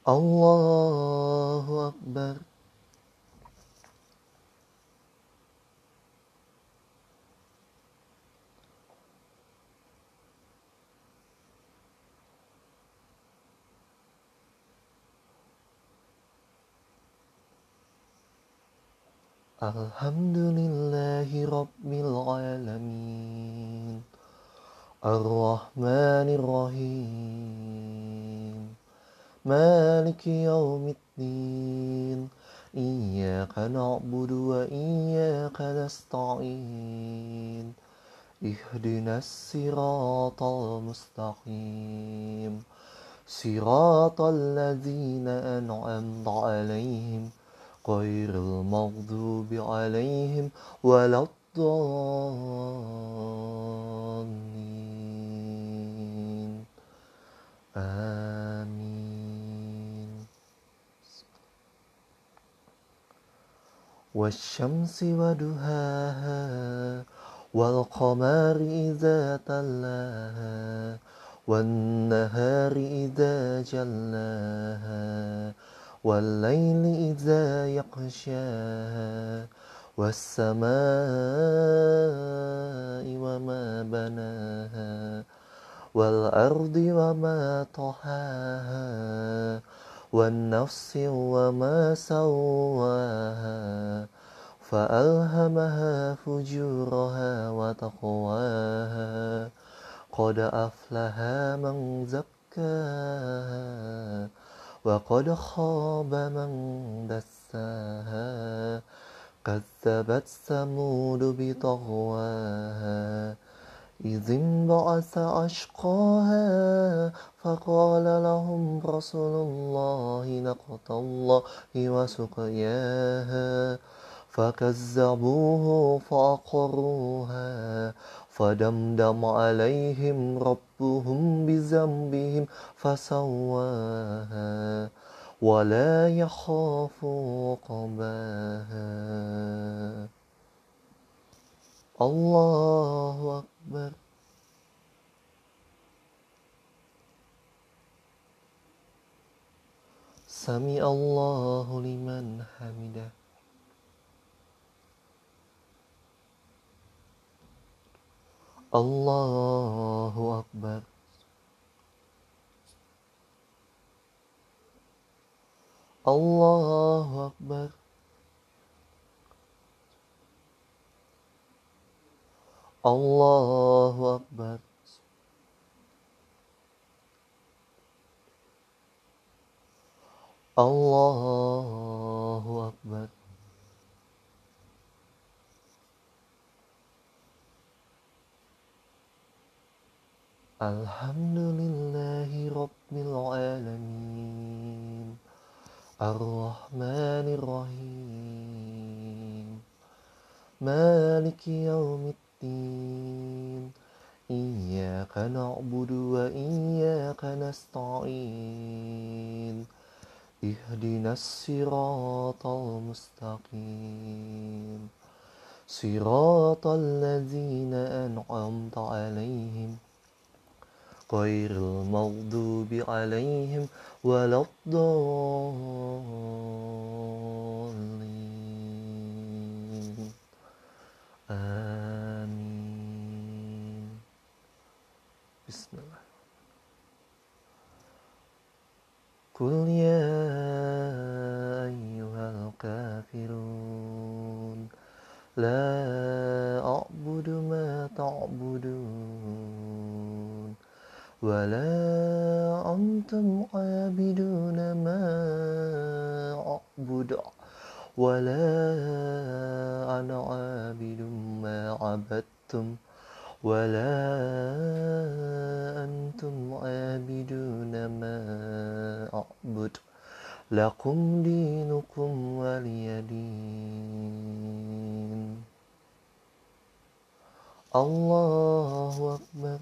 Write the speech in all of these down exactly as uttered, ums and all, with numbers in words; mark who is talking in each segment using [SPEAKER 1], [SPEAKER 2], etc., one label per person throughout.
[SPEAKER 1] Allahu Akbar. Alhamdulillahi Rabbil Alamin, Ar-Rahmanir Rahim, Maliki Yawmiddin, Iyyaka na'budu wa iyyaka nasta'in, Ihdinas siratal mustaqim, Siratal ladzina an'amta 'alaihim ghairil maghdubi 'alaihim waladdallin. Amin. Wasyamsi waduhaha wal qamari idza talaha wan nahari idza jallaha wal laili idza yaghshaha was samaa'i wama banaha wal ardi wama tahaha wan nafsi wama sawwaha فألهمها فجورها وتقواها قد أفلح من زكاها وقد خاب من دساها كذبت ثمود بطغواها إذ انبعث أشقاها فقال لهم رسول الله ناقة الله وسقياها فكذبوه فعقروها فدمدم عليهم ربهم بذنبهم فسواها ولا يخاف عقباها. الله أكبر. سمع الله لمن حمده. Allahu Akbar. Allahu Akbar. Allahu Akbar. Allahu Akbar. Alhamdulillahi Rabbil Alamin, Ar-Rahmanir Rahim, Maliki Yawmiddin, Iyyaka na'budu wa iyyaka nasta'in, Ihdinas siratal mustaqim, Siratal ladzina an'amta 'alaihim ghairil maghdubi 'alaihim waladdallin. Amin. Bismillah. Qul ya ayyuhal kafirun la a'budu ma ta'budun wala antum abiduna ma a'budu wala ana abidum ma abadtum wala antum abiduna ma a'budu lakum dinukum waliyadin. Allahu Akbar.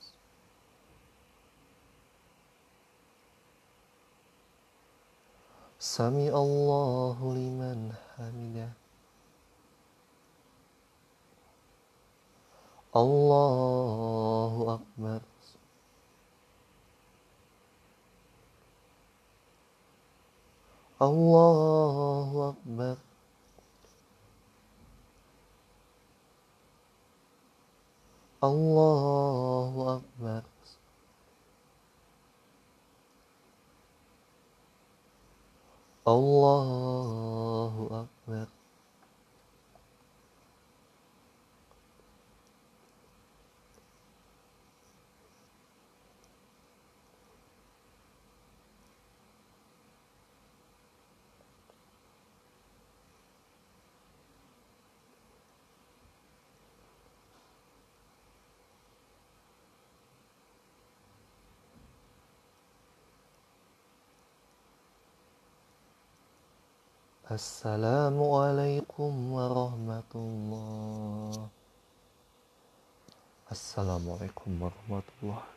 [SPEAKER 1] Sami Allahu liman hamidah. Allahu Akbar. Allahu Akbar. Allahu Akbar. Allahu Akbar. Assalamualaikum warahmatullah. Assalamualaikum warahmatullah.